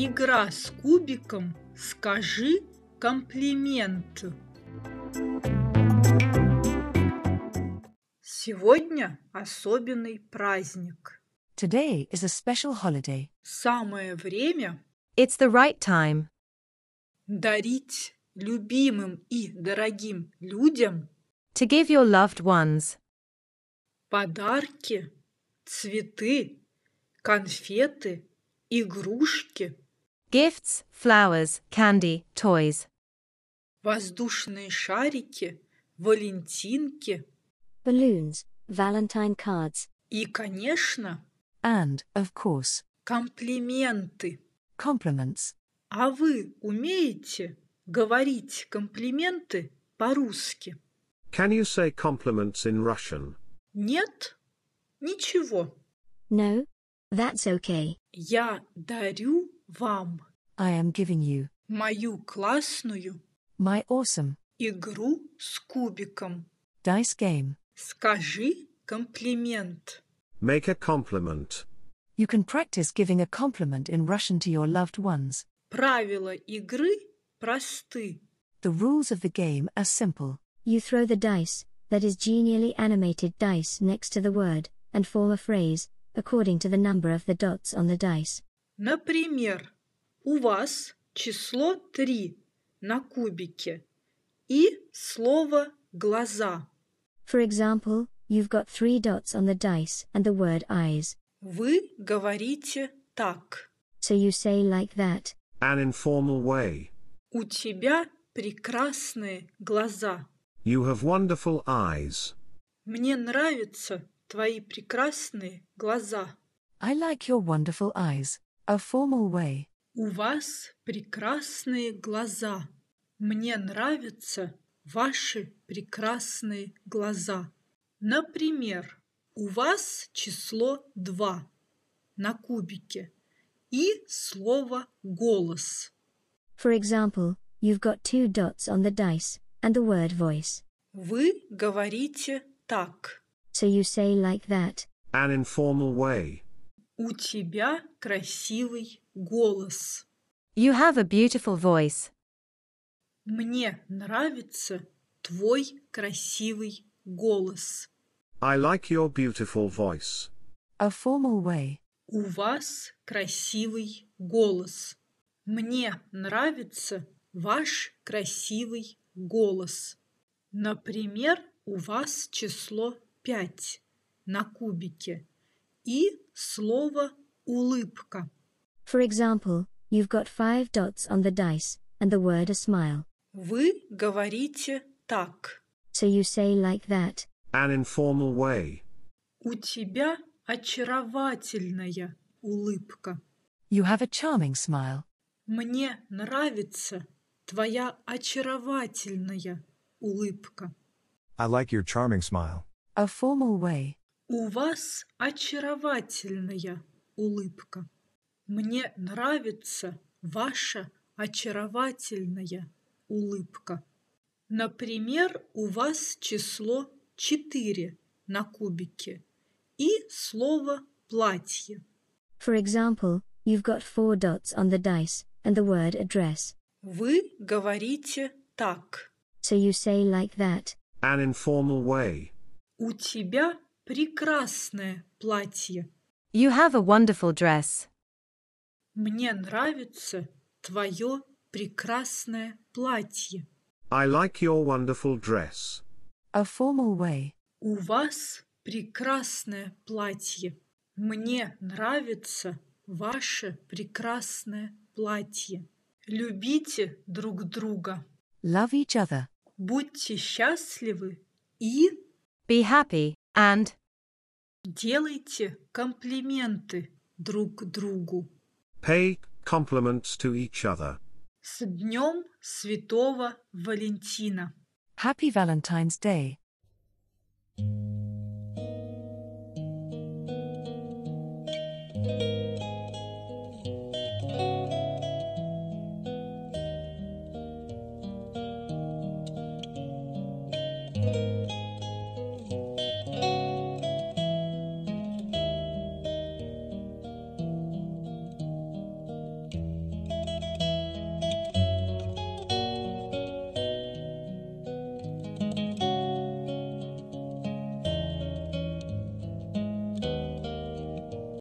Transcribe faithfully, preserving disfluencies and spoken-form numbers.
Игра с кубиком «Скажи комплимент». Сегодня особенный праздник. Today is a special holiday. Самое время It's the right time дарить любимым и дорогим людям to give your loved ones подарки, цветы, конфеты, игрушки, gifts, flowers, candy, toys, воздушные шарики, валентинки balloons, Valentine cards, и, конечно, and, of course, комплименты. compliments. А вы умеете говорить комплименты по-русски? Can you say compliments in Russian? Нет? Ничего. no, that's okay. Я дарю вам I am giving you мою классную my awesome игру с кубиком. dice game. Скажи комплимент. Make a compliment. You can practice giving a compliment in Russian to your loved ones. Правила игры просты. The rules of the game are simple. You throw the dice, that is genially animated dice, next to the word, and form a phrase, according to the number of the dots on the dice. Например, у вас число три на кубике и слово «глаза». For example, you've got three dots on the dice and the word eyes. Вы говорите так. So you say like that. An informal way. У тебя прекрасные глаза. You have wonderful eyes. Мне нравятся твои прекрасные глаза. I like your wonderful eyes. A formal way. У вас прекрасные глаза. Мне нравятся ваши прекрасные глаза. Например, у вас число два на кубике и слово «голос». For example, you've got two dots on the dice and the word voice. Вы говорите так. So you say like that. An informal way. У тебя красивый голос. You have a beautiful voice. Мне нравится твой красивый голос. I like your beautiful voice. A formal way. У вас красивый голос. Мне нравится ваш красивый голос. Например, у вас число пять на кубике и слово «улыбка». For example, you've got five dots on the dice and the word a smile. Вы говорите так. So you say like that. An informal way. У тебя очаровательная улыбка. You have a charming smile. Мне нравится твоя очаровательная улыбка. I like your charming smile. A formal way. У вас очаровательная улыбка. Мне нравится ваша очаровательная улыбка. Например, у вас число четыре на кубике и слово «платье». For example, you've got four dots on the dice and the word address. Вы говорите так. So you say like that. An informal way. У тебя прекрасное платье. You have a wonderful dress. Мне нравится твое прекрасное платье. I like your wonderful dress. A formal way. У вас прекрасное платье. Мне нравится ваше прекрасное платье. Любите друг друга. Love each other. Будьте счастливы и Be happy and делайте комплименты друг другу. Pay compliments to each other. С Днем Святого Валентина! Happy Valentine's Day.